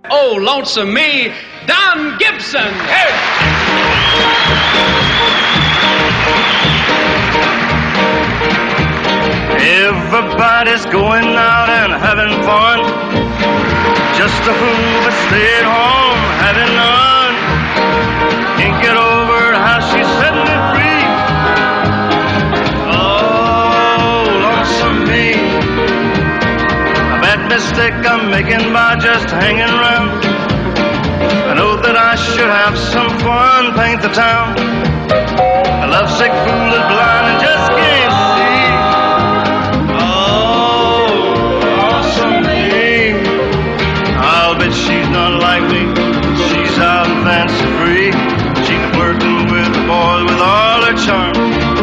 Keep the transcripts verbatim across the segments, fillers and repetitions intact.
Oh, lonesome me, Don Gibson. Hey. Everybody's going out and having fun. Just a fool but stay at home having none. Can't get over how she's setting me free. Oh, lonesome me. A bad mistake I'm making by just hanging around. I know that I should have some fun, paint the town. A lovesick fool is blind and just can't see. She's not like me, she's out and fancy free. She's flirting with the boys with all her charm.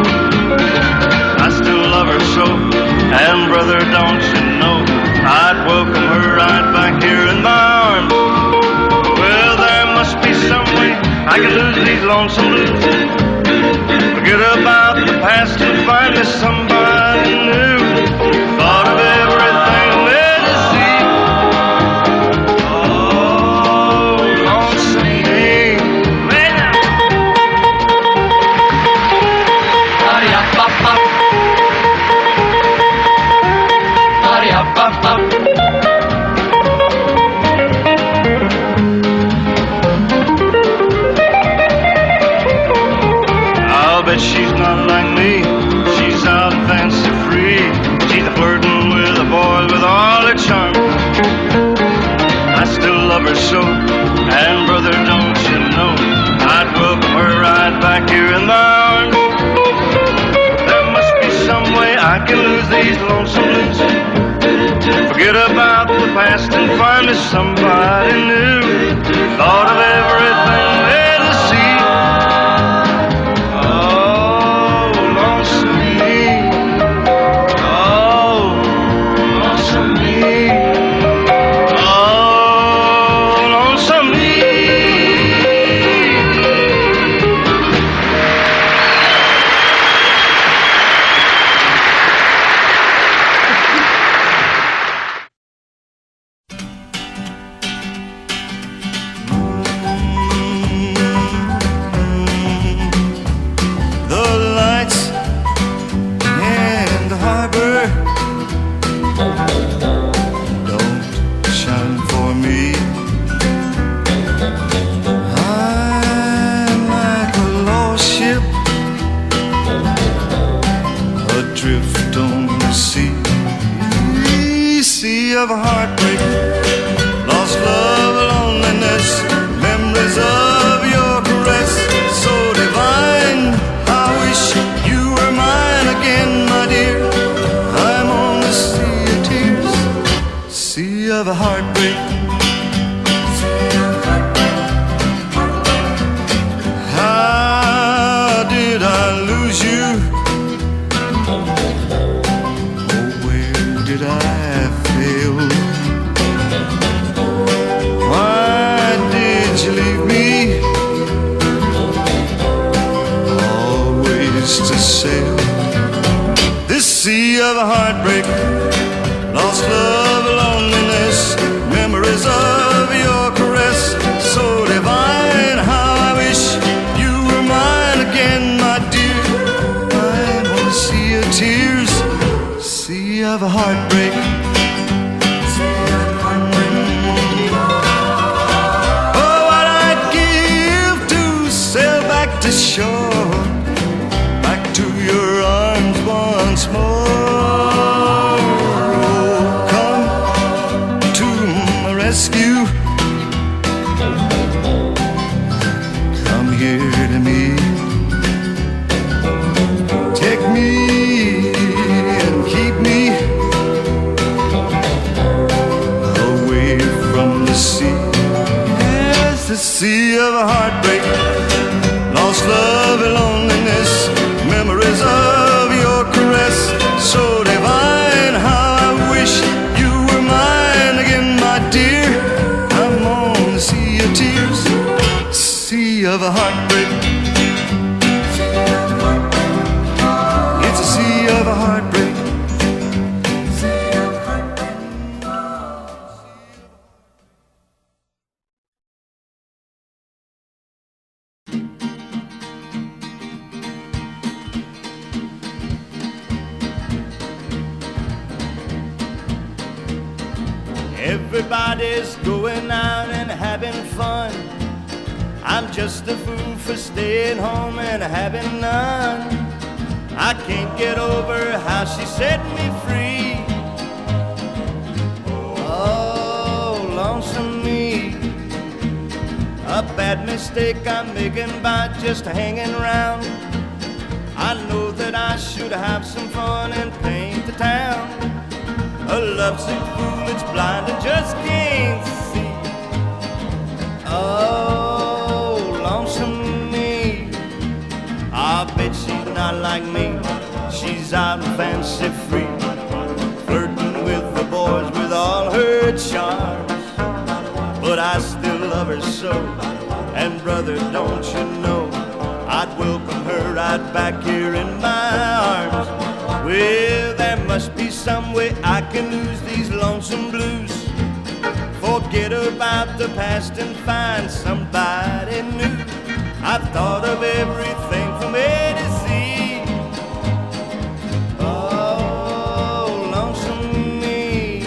I still love her so, and brother, don't you know, I'd welcome her right back here in my arms. Well, there must be some way I can lose these lonesome blues. Forget about the past and find me somebody new. Thought of everything there to see. I'll bet she's not like me. She's out and fancy free. She's flirting with a boy with all her charm. I still love her so, and brother, don't you know, I'd welcome her right back here in my arms. There must be some way I can lose these lonesome blues. Forget about the past and find me somebody new. Thought of everything there to see. Oh, lonesome me. Oh, lonesome me. Oh, lonesome me. Of a heartbreak, lost love, loneliness, memories of your caress, so divine. I wish you were mine again, my dear. I'm on the sea of tears, sea of a heartbreak. How did I lose you? Oh, where did I? Why did you leave me? Always to sail this sea of a heartbreak, lost love, loneliness, memories of your caress, so divine. How I wish you were mine again, my dear. I'm on a sea of tears, sea of a heartbreak. To shore, back to your arms once more. Oh, come to my rescue. Come here to me. Take me and keep me away from the sea. Yes, the sea of a heartbreak, lost love and loneliness, memories of your caress, so divine. How I wish you were mine again, my dear. I'm on the sea of tears, sea of a heartbreak. It's a sea of a heartbreak. Everybody's going out and having fun. I'm just a fool for staying home and having none. I can't get over how she set me free. Oh, lonesome me. A bad mistake I'm making by just hanging around. I know that I should have some fun and paint the town. A lovesick fool that's blind and just can't see. Oh, lonesome me. I bet she's not like me. She's out and fancy free, flirting with the boys with all her charms. But I still love her so, and brother, don't you know, I'd welcome her right back here in my arms. Well, there must be some way I can lose these lonesome blues, forget about the past and find somebody new. I've thought of everything from A to Z. Oh, lonesome me.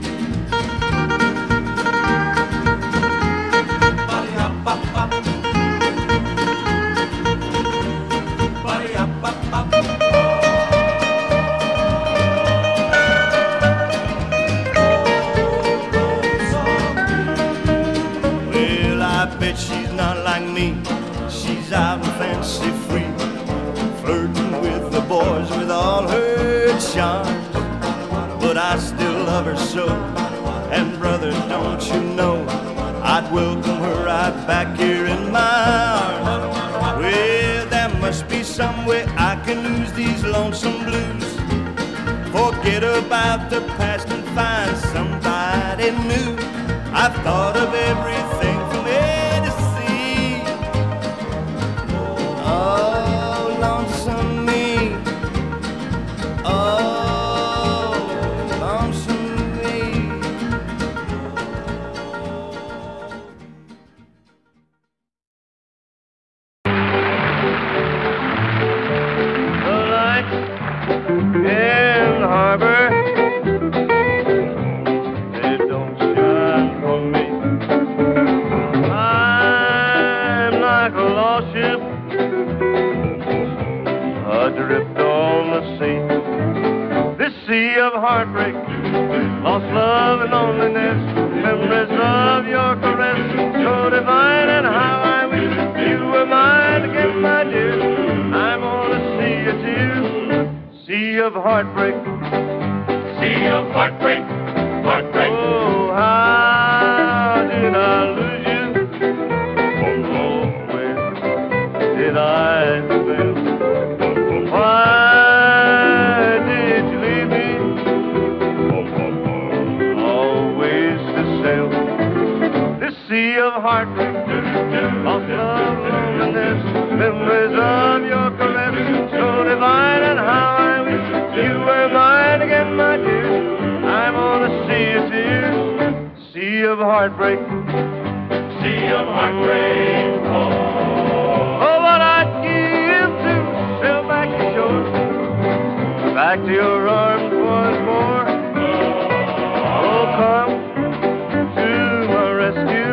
Well, I bet she's not like me. She's out and fancy free, flirting with the boys with all her charms. But I still love her so, and brother, don't you know, I'd welcome her right back here in my arms. Well, there must be some way I can lose these lonesome blues, forget about the past and find somebody new. I've thought of everything from A to Z. Oh, lonesome me. Oh, lonesome me. The lights in the harbor, they don't shine for me. I'm like a lost ship adrift on the sea. This sea of heartbreak, lost love and loneliness, memories of your caress, so divine, and how I wish you were mine again, my dear. I'm on a sea of tears, sea of heartbreak, sea of heartbreak, heartbreak. Oh, how did I lose you? Oh, where did I fail? Why did you leave me? Always to sail this sea of heartbreak, lost love, loneliness, memories of your caress, so divine, and how I wish you were mine again, my dear. I'm on a sea of tears, sea of heartbreak, sea of heartbreak. Oh, oh, what I'd give to sail back to shore, back to your arms once more. Oh, come to my rescue,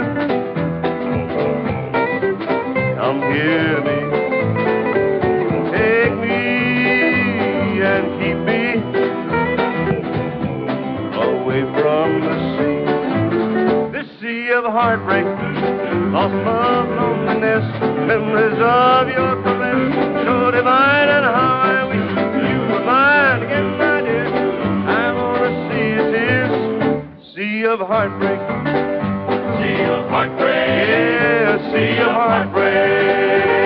come hear me, take me and keep me away from the sea. This sea of heartbreak, lost love, loneliness, memories of your caress, so divine, and how I wish you were mine again, my dear. I'm on a sea of tears, sea of heartbreak, sea of heartbreak, yeah, sea of heartbreak.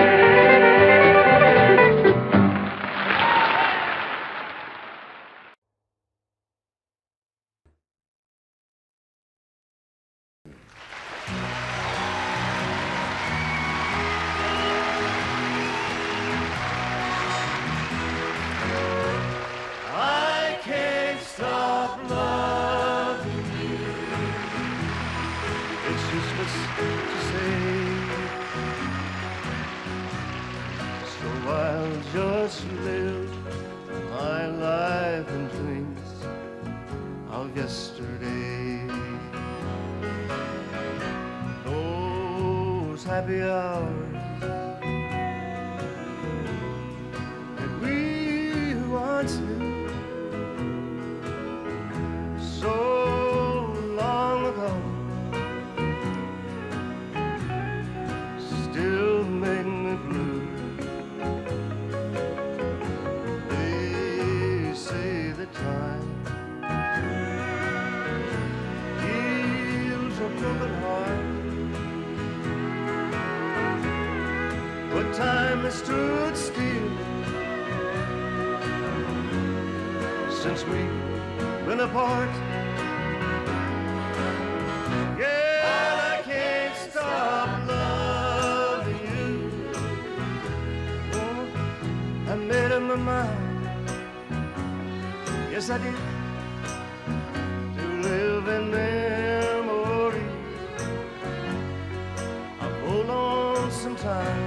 I can't stop loving you. It's useless to say, so I'll just live my life in dreams of yesterday. happy hours that we once knew so long ago still make me blue. They say that time heals a broken heart, but time has stood still since we've been apart. Yeah, and I can't stop loving you. Oh, I made up my mind, yes I did, to live in memory of old lonesome time.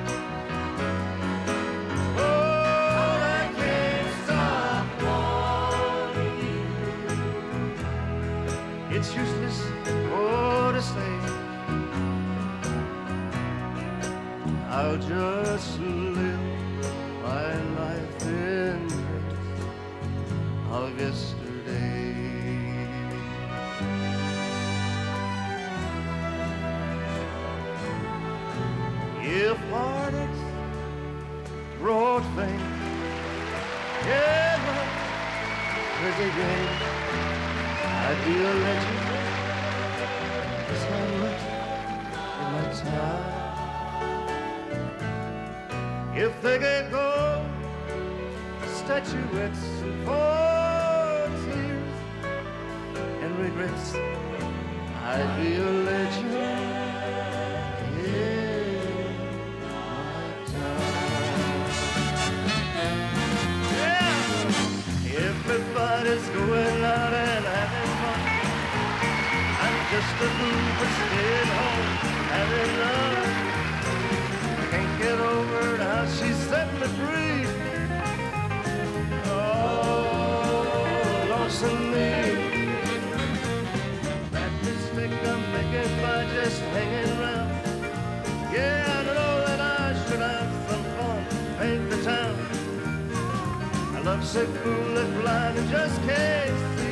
It's useless more to say. I'll just live my life in dreams of yesterday. If heartaches brought fame, yeah, pretty game, I'd be a legend, just how much in my time. If they could go statuettes and for tears and regrets, I'd be a legend in my time. Yeah, everybody's going out and having just a fool for staying home, having love. I can't get over how she set me free. Oh, lonesome me. That mistake I'm making by just hanging around. Yeah, I know that I should have some fun, paint the town. I love sick fool that's blind and just can't see.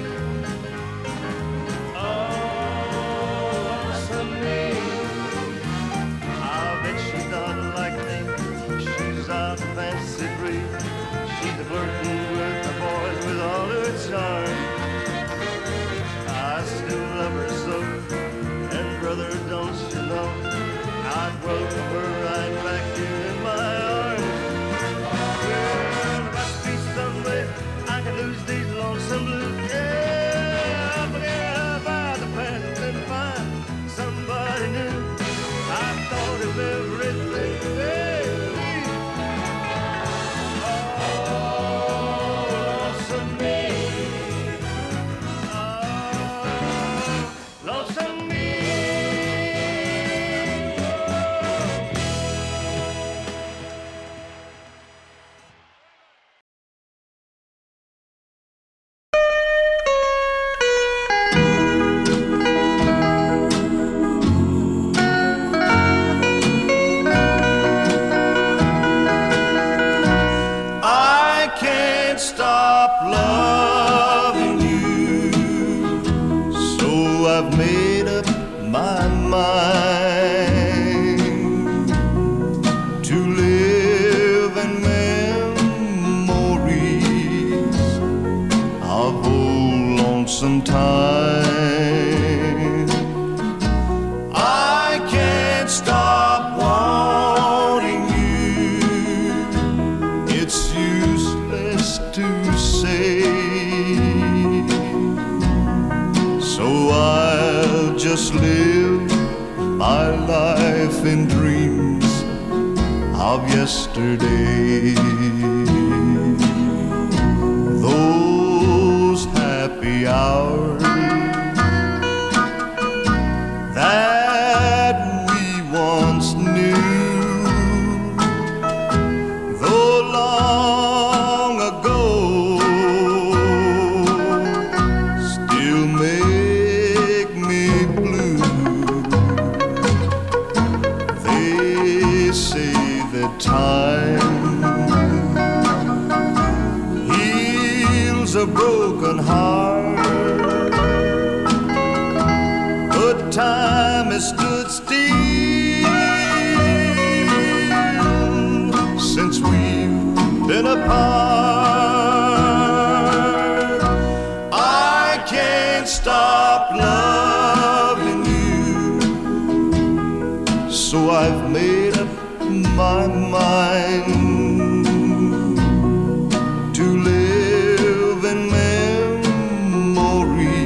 Fancy free, she's a flirting with the boys with all her charm. I still love her so, and brother, don't you know, I'd welcome her right back here in my arms. Well, there must be some way I can lose these lonesome blues. Yeah, forget about the past and find somebody new. I thought of everything. Yeah. Yesterday, those happy hours that we once knew, though long ago, still make me blue. time has stood still since we've been apart. I can't stop loving you, so I've made up my mind to live in memory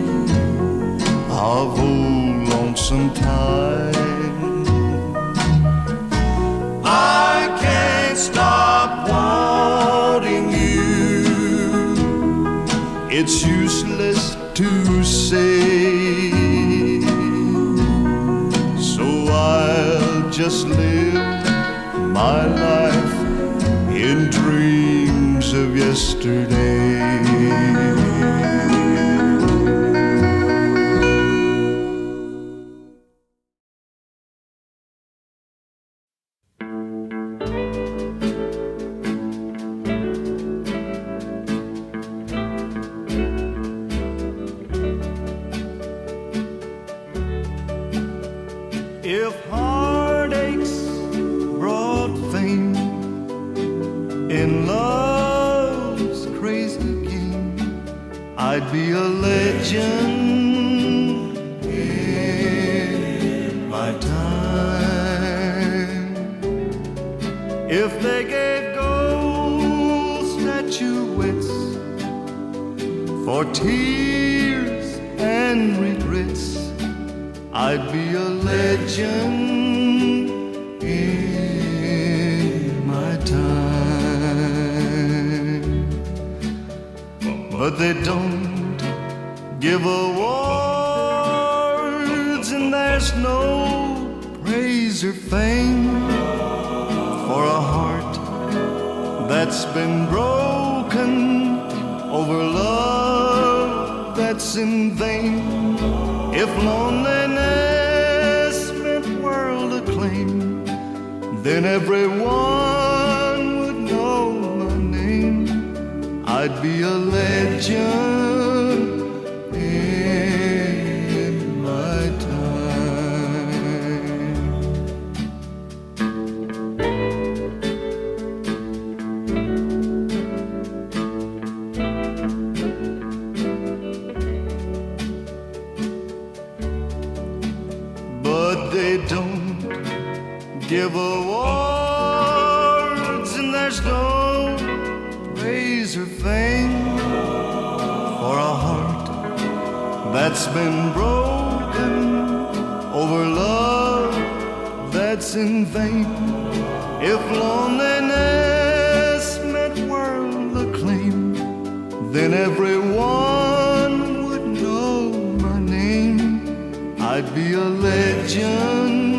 of old lonesome time. I can't stop wanting you. It's useless to say, so I'll just live my life in dreams of yesterday. If heartaches brought fame in love's crazy game, I'd be a legend in my time. If they gave gold statuettes for tears and regrets, I'd be a legend in my time. But they don't give awards, and there's no praise or fame for a heart that's been broken over love that's in vain. If loneliness meant world acclaim, then everyone would know my name. I'd be a legend in my They don't give awards, and there's no praise or fame for a heart that's been broken over love that's in vain. If loneliness meant world acclaim, then everyone would know my name. I'd be a legend